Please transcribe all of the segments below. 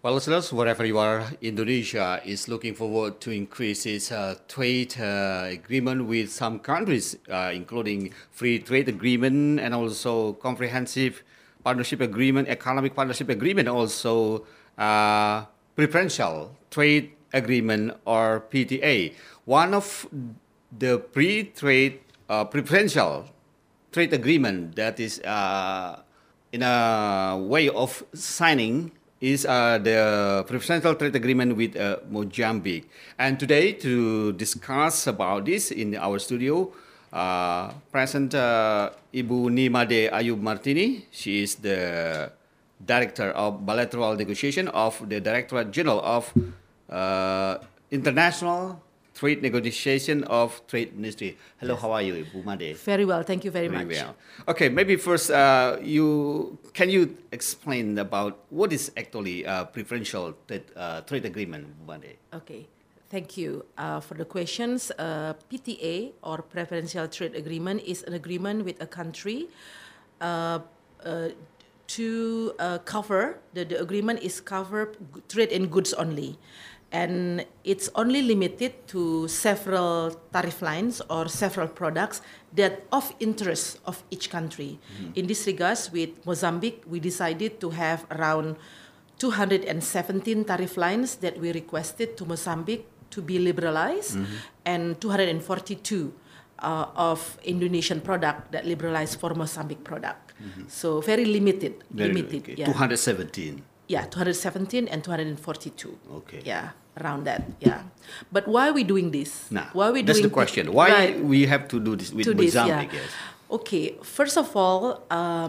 Well, listeners, wherever you are, Indonesia is looking forward to increase its trade agreement with some countries, including free trade agreement and also comprehensive partnership agreement, economic partnership agreement, also preferential trade agreement or PTA. One of the pre-trade preferential trade agreement that is in a way of signing is the preferential trade agreement with Mozambique. And today, to discuss about this in our studio, present Ibu Nimade Ayub Martini. She is the Director of Bilateral Negotiation of the Directorate General of International Trade Negotiation of Trade Ministry. Hello, yes. How are you, Ibu Made? Very well, thank you very much. Well. Okay, maybe first, can you explain about what is actually preferential trade agreement, Ibu Made? Okay, thank you for the questions. PTA or Preferential Trade Agreement is an agreement with a country to cover, the agreement is cover trade in goods only. And it's only limited to several tariff lines or several products that of interest of each country. Mm-hmm. In this regards, with Mozambique, we decided to have around 217 tariff lines that we requested to Mozambique to be liberalized, and 242 of Indonesian product that liberalized for Mozambique product. So very limited. Okay. Yeah. 217. Yeah, 217 and 242. Okay. Yeah, around that. Yeah. But why are we doing this? Now, why are we that's doing the question. Why we have to do this with Mozambique? Yes. Okay. First of all,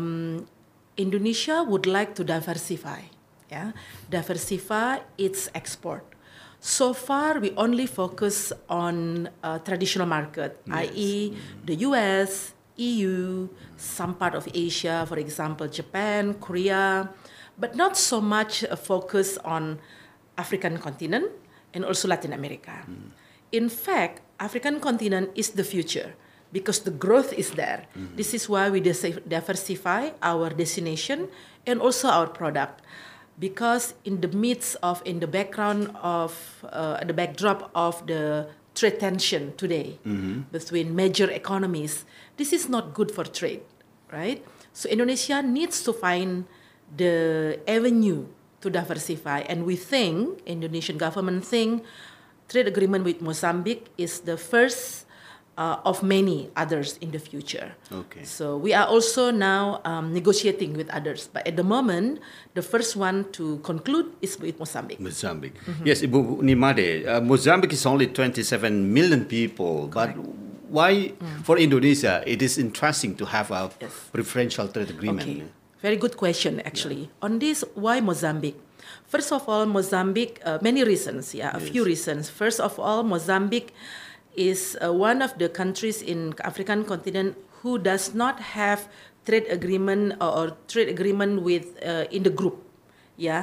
Indonesia would like to diversify. Yeah, diversify its export. So far, we only focus on traditional market, yes. i.e., the U.S., EU, some part of Asia, for example, Japan, Korea, but not so much a focus on African continent and also Latin America. In fact, African continent is the future because the growth is there. This is why we diversify our destination and also our product. Because in the background of the backdrop of the trade tension today between major economies, this is not good for trade, right? So Indonesia needs to find the avenue to diversify, and we think, Indonesian government think, trade agreement with Mozambique is the first of many others in the future. Okay. So we are also now negotiating with others, but at the moment, the first one to conclude is with Mozambique. Mozambique. Yes, Ibu Nimade, Mozambique is only 27 million people, correct. But why, for Indonesia, it is interesting to have a preferential trade agreement? Okay. Very good question, actually. Yeah. On this, why Mozambique? First of all, Mozambique, many reasons, a few reasons. First of all, Mozambique is one of the countries in African continent who does not have trade agreement or trade agreement with in the group. Yeah.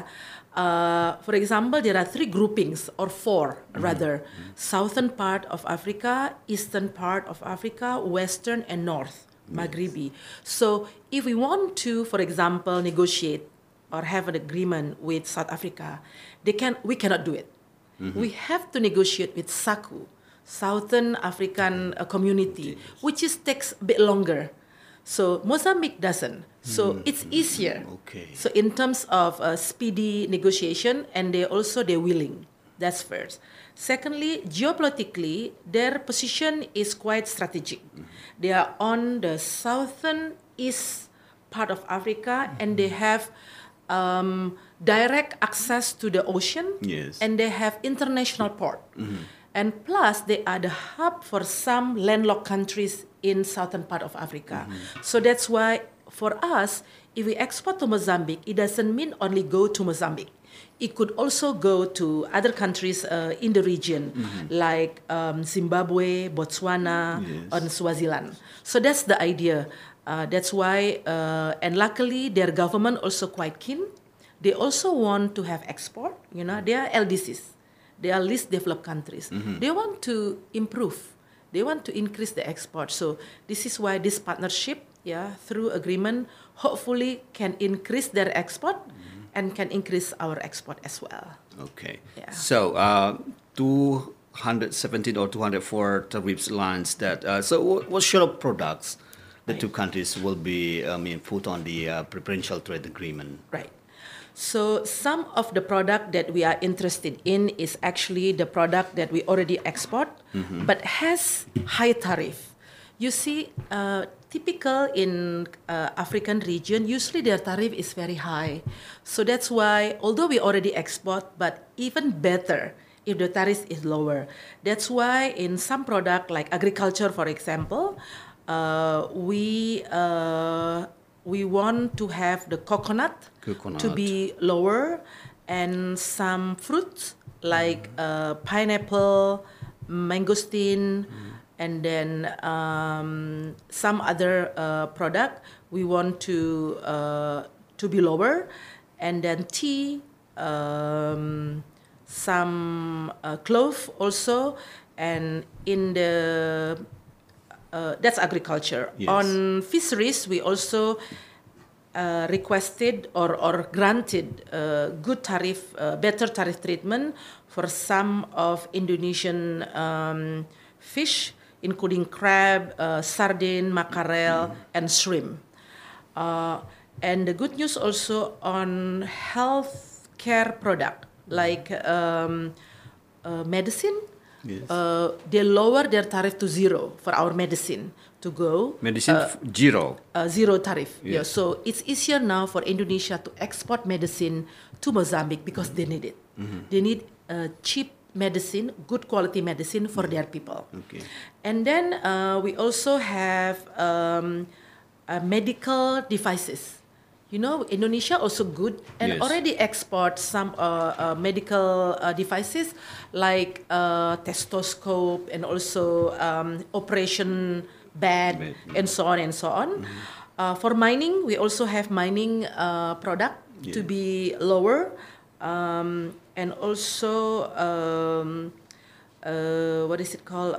For example, there are three groupings or four rather: southern part of Africa, eastern part of Africa, western and north. Maghribi. So if we want to, for example, negotiate or have an agreement with South Africa, we cannot do it. We have to negotiate with SACU, Southern African Community, which takes a bit longer. So Mozambique doesn't. So it's easier. Okay. So in terms of speedy negotiation, and they're willing. That's first. Secondly, geopolitically, their position is quite strategic. They are on the southern east part of Africa, and they have direct access to the ocean, and they have international port. And plus, they are the hub for some landlocked countries in southern part of Africa. So that's why, for us, if we export to Mozambique, it doesn't mean only go to Mozambique. It could also go to other countries in the region, like Zimbabwe, Botswana, and Swaziland. So that's the idea. That's why, and luckily, their government also quite keen. They also want to have export. You know, they are LDCs. They are least developed countries. They want to improve. They want to increase the export. So this is why this partnership, through agreement, hopefully can increase their export and can increase our export as well. Okay. Yeah. So 217 or 204 tariff lines that. So what sort of products the two countries will be put on the preferential trade agreement? Right. So some of the product that we are interested in is actually the product that we already export, but has high tariff. You see, typical in African region, usually their tariff is very high. So that's why, although we already export, but even better if the tariff is lower. That's why in some product like agriculture, for example, we want to have the coconut to be lower, and some fruits like pineapple, mangosteen, and then some other product we want to be lower, and then tea, some clove also, and in the that's agriculture. Yes. On fisheries, we also requested or granted good tariff, better tariff treatment for some of Indonesian fish, including crab, sardine, mackerel, and shrimp. And the good news also on health care product like medicine. Yes. They lower their tariff to zero for our medicine to go. Medicine zero. Zero tariff. Yes. Yeah. So it's easier now for Indonesia to export medicine to Mozambique because they need it. They need cheap medicine, good quality medicine for their people. Okay. And then we also have medical devices. You know, Indonesia also good and Yes. already export some medical devices like stethoscope and also operation bed and so on and so on. For mining, we also have mining product to be lower, and also what is it called?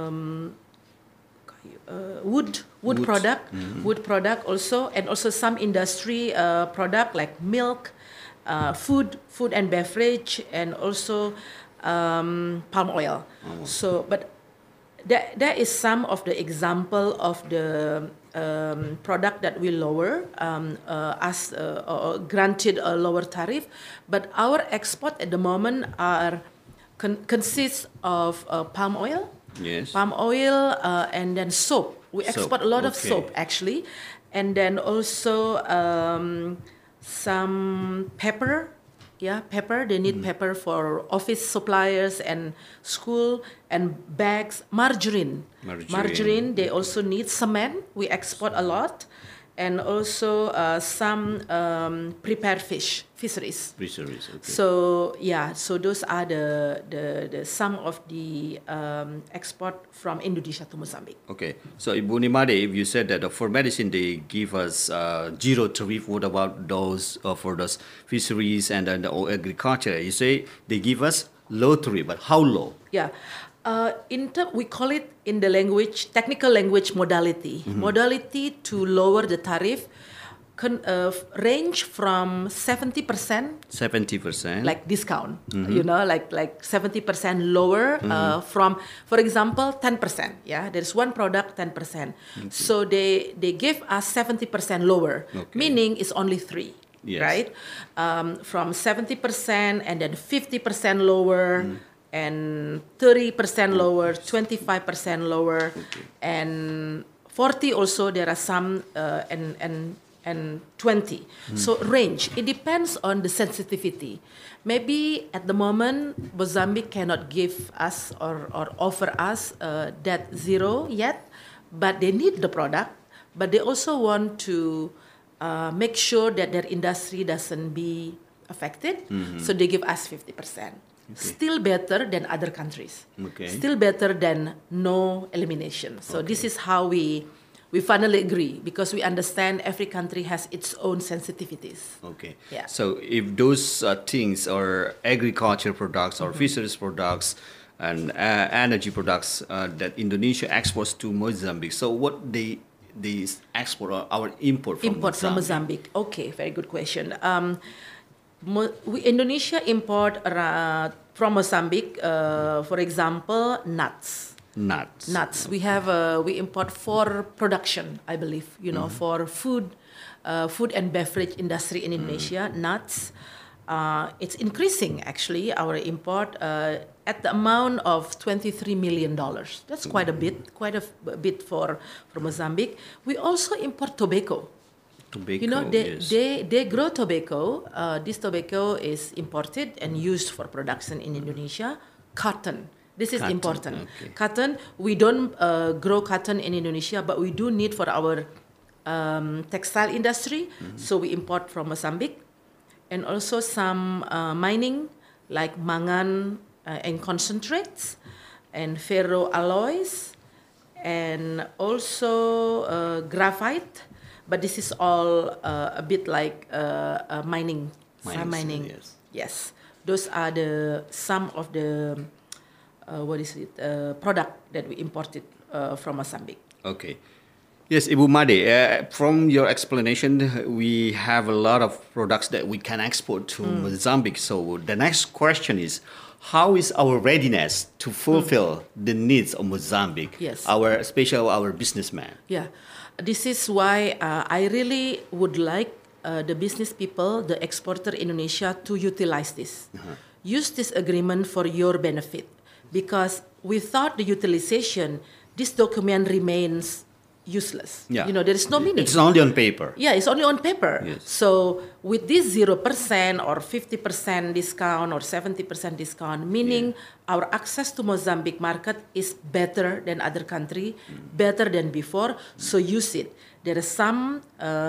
Wood product, wood product also, and also some industry product like milk, food and beverage, and also palm oil. So, but that is some of the example of the product that we lower as granted a lower tariff. But our export at the moment are consists of palm oil. Yes. Palm oil and then soap. We export a lot of okay. soap actually, and then also some pepper. Yeah, pepper. They need pepper for office suppliers and school, and bags. Margarine. They also need cement. We export a lot, and also some prepared fisheries. Fisheries. Okay. So yeah, so those are the some of the export from Indonesia to Mozambique. Okay, so Ibu Nimade, if you said that for medicine they give us zero tariff, what about those for those fisheries and then the agriculture? You say they give us low tariff, but how low? Yeah. We call it in the language, technical language, modality. Modality to lower the tariff range from 70%. 70%. Like discount, you know, like 70% lower from, for example, 10%. Yeah, there's one product, 10%. So they give us 70% lower, meaning it's only 3. Yes. Right? From 70% and then 50% lower. And 30% lower, 25% lower, and 40 also. There are some and 20. So range. It depends on the sensitivity. Maybe at the moment Mozambique cannot give us or offer us that zero yet, but they need the product. But they also want to make sure that their industry doesn't be affected. So they give us 50%. Still better than other countries. Still better than no elimination. So this is how we finally agree, because we understand every country has its own sensitivities. Okay. Yeah. So if those things are agriculture products or fisheries products and energy products that Indonesia exports to Mozambique, so what they export or our import from Import Mozambique? from Mozambique. Okay, very good question. Indonesia import from Mozambique, for example, nuts. Nuts. We import for production, I believe, for food and beverage industry in Indonesia, nuts. It's increasing actually, our import at the amount of $23 million. That's quite a bit for Mozambique. We also import tobacco. Tobacco, yes. They grow tobacco. This tobacco is imported and used for production in Indonesia. Cotton. This is important. Okay. Cotton, we don't grow cotton in Indonesia, but we do need for our textile industry. So we import from Mozambique. And also some mining, like mangan and concentrates, and ferro alloys, and also graphite. But this is all a bit like mining. Yes. Yes, those are some of the product that we imported from Mozambique. Okay. Yes, Ibu Made, from your explanation, we have a lot of products that we can export to Mozambique. So the next question is, how is our readiness to fulfill the needs of Mozambique, Yes. especially our businessmen? Yeah, this is why I really would like the business people, the exporter Indonesia, to utilize this. Use this agreement for your benefit, because without the utilization, this document remains useless. Yeah. There is no meaning. It's only on paper. Yeah, it's only on paper. Yes. So with this 0% or 50% discount or 70% discount, meaning our access to Mozambique market is better than other country, better than before. So use it. There are some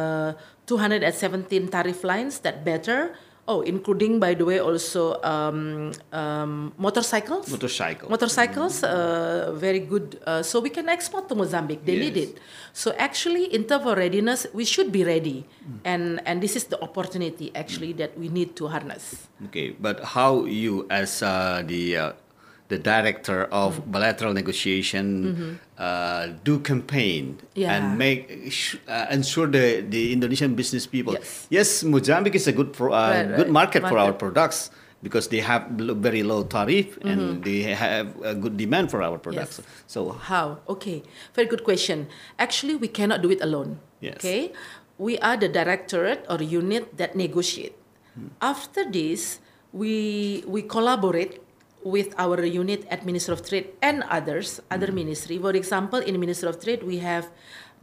217 tariff lines that better. Oh, including, by the way, also motorcycles. Motorcycles, very good. So we can export to Mozambique. They need it. So actually, in terms of readiness, we should be ready. And this is the opportunity, actually, that we need to harness. Okay, but how you, as the director of bilateral negotiation, do campaign and make ensure the Indonesian business people. Yes, Mozambique is a good good market for our products because they have very low tariff and they have a good demand for our products. Yes. So how? Okay, very good question. Actually, we cannot do it alone. Yes. Okay, we are the directorate or unit that negotiate. After this, we collaborate with our unit at Ministry of Trade and other ministry. For example, in Ministry of Trade, we have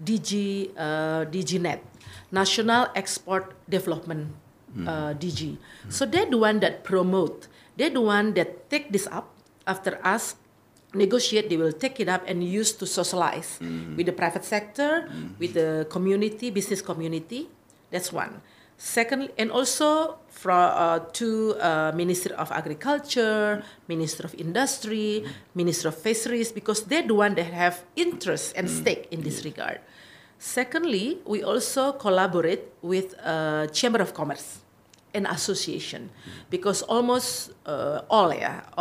DGNet, National Export Development DG. So they're the one that promote. They're the one that take this up after us negotiate. They will take it up and use to socialize with the private sector, with the community, business community. That's one. Second, and also to Ministry of Agriculture, Ministry of Industry, Ministry of Fisheries, because they're the one that have interest and stake in this regard. Secondly, we also collaborate with Chamber of Commerce and Association, because almost all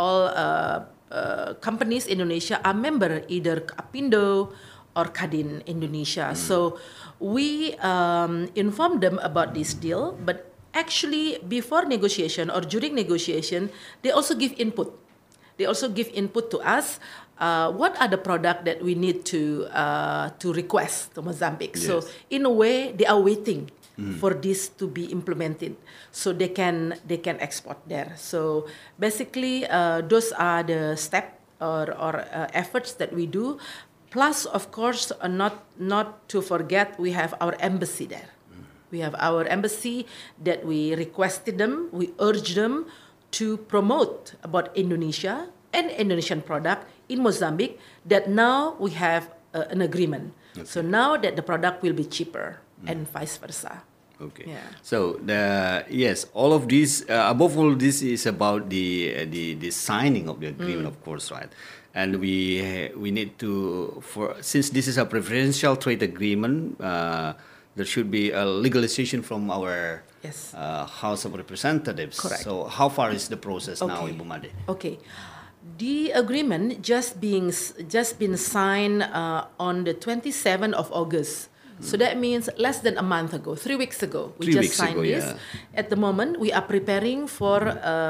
companies in Indonesia are member either Apindo or Kadin Indonesia. So we inform them about this deal, but actually before negotiation or during negotiation, they also give input. They also give input to us. What are the products that we need to request to Mozambique? Yes. So in a way, they are waiting for this to be implemented, so they can export there. So basically, those are the steps or efforts that we do. Plus, of course, not to forget, we have our embassy there. We have our embassy that we requested them, we urged them to promote about Indonesia and Indonesian product in Mozambique, that now we have an agreement. Okay. So now that the product will be cheaper and vice versa. Okay. Yeah. So all of this, above all, this is about the signing of the agreement, of course, right? And we need to, since this is a preferential trade agreement, there should be a legalization from our House of Representatives. Correct. So how far is the process now, Ibu Made? Okay. The agreement just been signed on the 27th of August So that means less than a month ago, 3 weeks ago, we 3 just weeks signed ago, this. yeah. At the moment, we are preparing for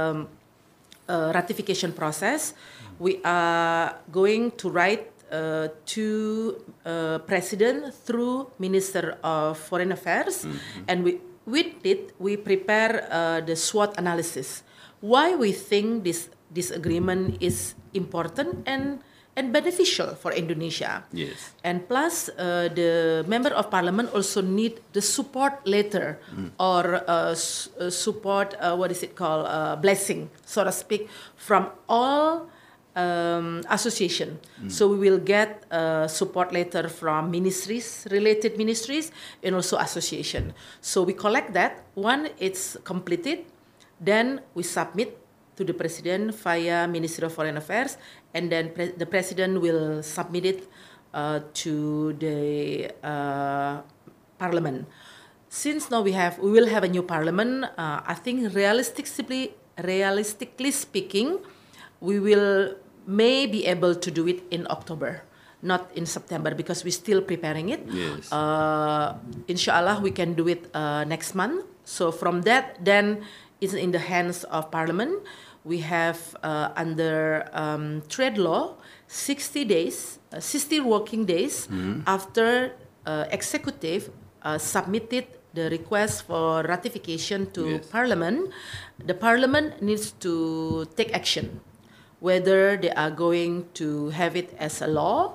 ratification process. We are going to write to President through Minister of Foreign Affairs, and with it we prepare the SWOT analysis. Why we think this agreement is important and beneficial for Indonesia. Yes. And plus, the member of parliament also need the support letter or support, what is it called, blessing, so to speak, from all association. So we will get a support letter from ministries, related ministries, and also association. So we collect that. One, it's completed. Then we submit to the president via Ministry of Foreign Affairs, and then the president will submit it to the parliament. Since now we will have a new parliament, I think realistically speaking, we may be able to do it in October, not in September, because we're still preparing it. Yes. Inshallah, we can do it next month. So from that, then it's in the hands of Parliament. We have under trade law 60 days, 60 working days after executive submitted the request for ratification to Parliament. The Parliament needs to take action, whether they are going to have it as a law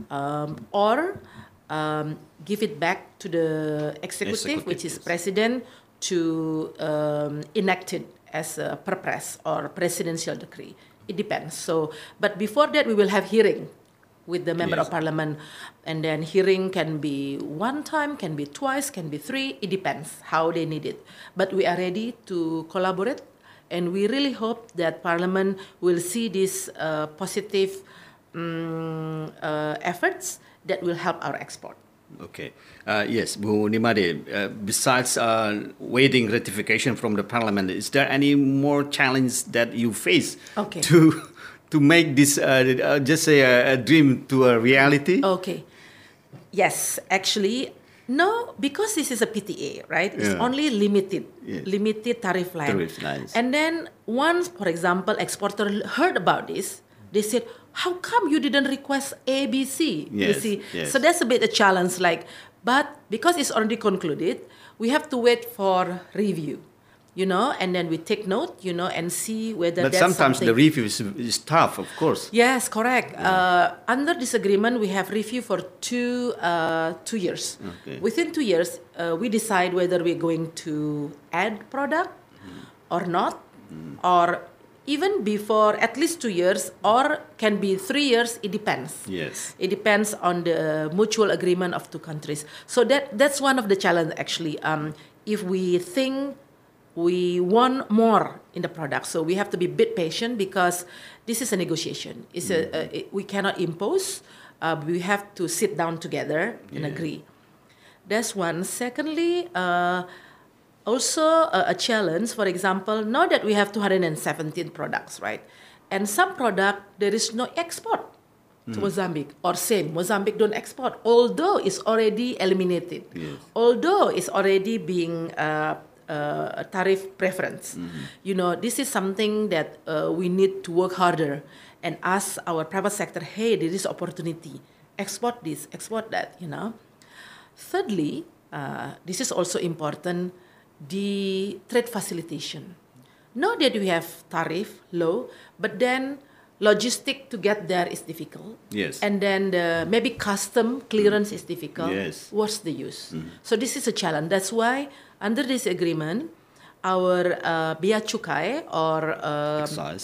or give it back to the executive, which is president, to enact it as a purpose or presidential decree. It depends. So, but before that, we will have hearing with the member of parliament, and then hearing can be one time, can be twice, can be 3. It depends how they need it. But we are ready to collaborate, and we really hope that Parliament will see these positive efforts that will help our export. Okay. Yes, Bu Nimade, besides waiting ratification from the Parliament, is there any more challenge that you face to make this just say a dream to a reality? Okay. Yes, actually, no, because this is a PTA, right? It's only limited tariff line. And then once, for example, exporter heard about this, they said, how come you didn't request ABC? You see, so that's a bit a challenge. But because it's already concluded, we have to wait for review, and then we take note, and see whether. But that's sometimes something. the review is tough, of course. Yes, correct. Under this agreement, we have review for 2 years. Okay. Within 2 years, we decide whether we're going to add product or not, or even before at least 2 years, or can be 3 years. It depends. Yes. It depends on the mutual agreement of 2 countries. So that's one of the challenge actually. If we think we want more in the product, so we have to be a bit patient, because this is a negotiation. We cannot impose. We have to sit down together and agree. That's one. Secondly, also a challenge, for example, now that we have 217 products, right? And some product, there is no export to Mozambique, or same, Mozambique don't export, although it's already eliminated, although it's already being tariff preference. This is something that we need to work harder and ask our private sector, hey, there is opportunity, export this, export that, Thirdly, this is also important, the trade facilitation. Now that we have tariff low, but then logistic to get there is difficult. Yes. And then maybe custom clearance is difficult. Yes. What's the use? So this is a challenge. That's why under this agreement, our Bea Cukai or Excise.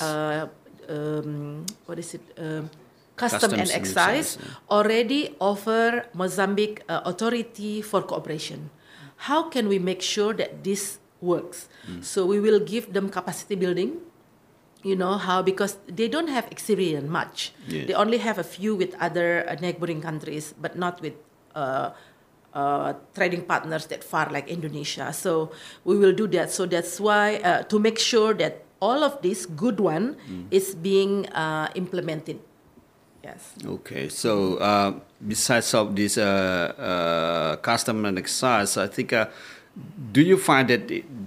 what is it? Custom and excise already offer Mozambique authority for cooperation. How can we make sure that this works? So we will give them capacity building. Because they don't have experience much. Yes. They only have a few with other neighboring countries, but not with trading partners that far like Indonesia. So we will do that. So that's why to make sure that all of this good one is being implemented. Yes. Okay, so besides of this custom and exercise, I think, do you find that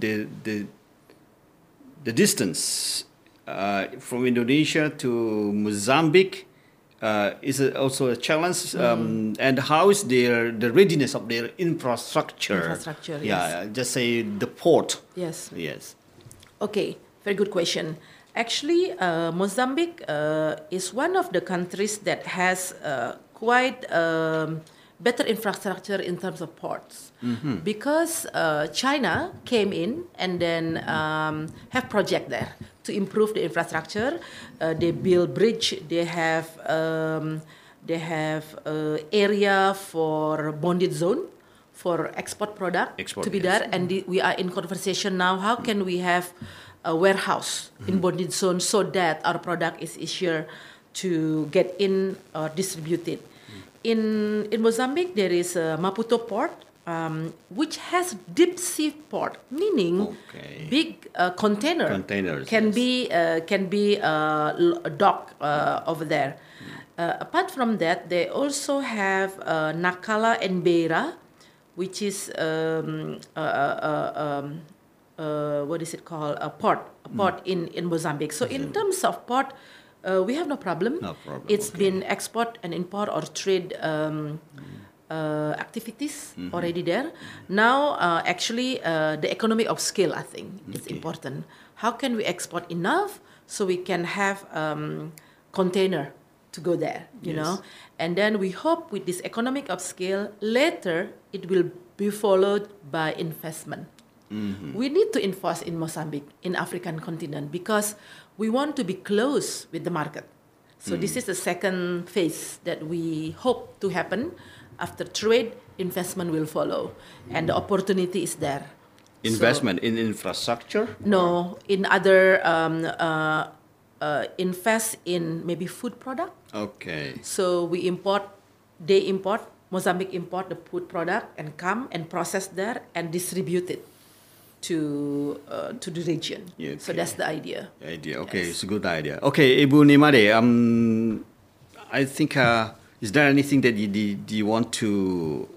the distance from Indonesia to Mozambique is also a challenge? And how is the readiness of their infrastructure? Infrastructure, Yeah, yes. just say the port. Yes. Yes. Okay, very good question. Actually, Mozambique is one of the countries that has quite better infrastructure in terms of ports, because China came in and then have project there to improve the infrastructure. They build bridge. They have area for bonded zone for export product Export, to be yes. there, and we are in conversation now. How can we have a warehouse in bonded zone so that our product is easier to get in or distributed? In Mozambique, there is a Maputo port, which has deep sea port, meaning Okay. big Containers, can yes. be docked over there. Apart from that, they also have Nacala and Beira, which is what is it called? A port in Mozambique. So in terms of port, we have no problem. No problem, It's okay. been export and import or trade activities already there. Now, actually, the economy of scale, I think, is Okay. important. How can we export enough so we can have container to go there, you Yes. know? And then we hope with this economic of scale, later it will be followed by investment. We need to invest in Mozambique, in African continent, because we want to be close with the market. So this is the second phase that we hope to happen. After trade, investment will follow, and the opportunity is there. Investment in infrastructure? No, in other invest in maybe food product. Okay. So Mozambique import the food product and come and process there and distribute it to the region. Yeah, So okay. that's the idea. Idea. Okay, Yes. it's a good idea. Okay, Ibu Nimade, I think, is there anything that you want to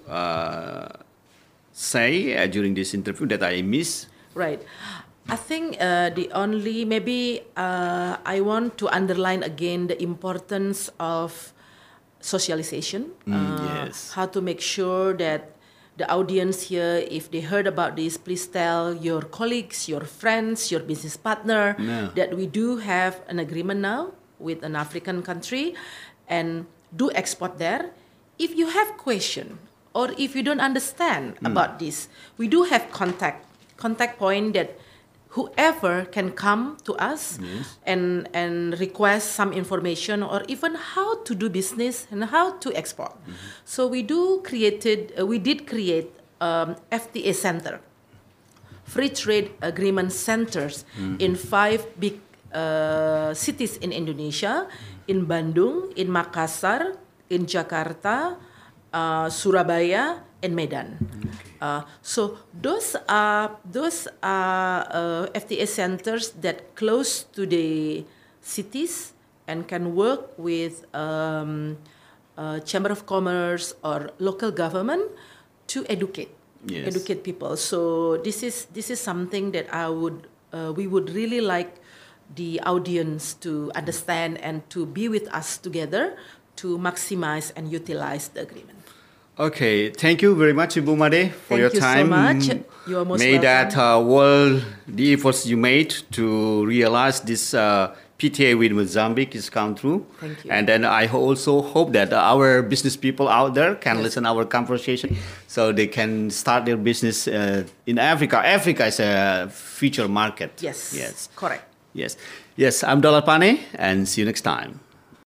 say during this interview that I missed? Right. I think the only, maybe I want to underline again the importance of socialization. Yes. How to make sure that the audience here, if they heard about this, please tell your colleagues, your friends, your business partner Yeah. that we do have an agreement now with an African country and do export there. If you have question or if you don't understand about this, we do have contact point that whoever can come to us and request some information or even how to do business and how to export. So we did create FTA center, free trade agreement centers in 5 big cities in Indonesia, in Bandung, in Makassar, in Jakarta, Surabaya, and Medan. So those are FTA centers that close to the cities and can work with Chamber of Commerce or local government to educate people. So this is something that we would really like the audience to understand and to be with us together to maximize and utilize the agreement. Okay, thank you very much, Ibu Made, for Thank your you so time. much. You are most May welcome. that the efforts you made to realize this PTA with Mozambique is come true. Thank you. And then I also hope that our business people out there can listen our conversation, so they can start their business in Africa. Africa is a future market. Yes. Yes. Correct. Yes. Yes. I'm Dolar Pane, and see you next time.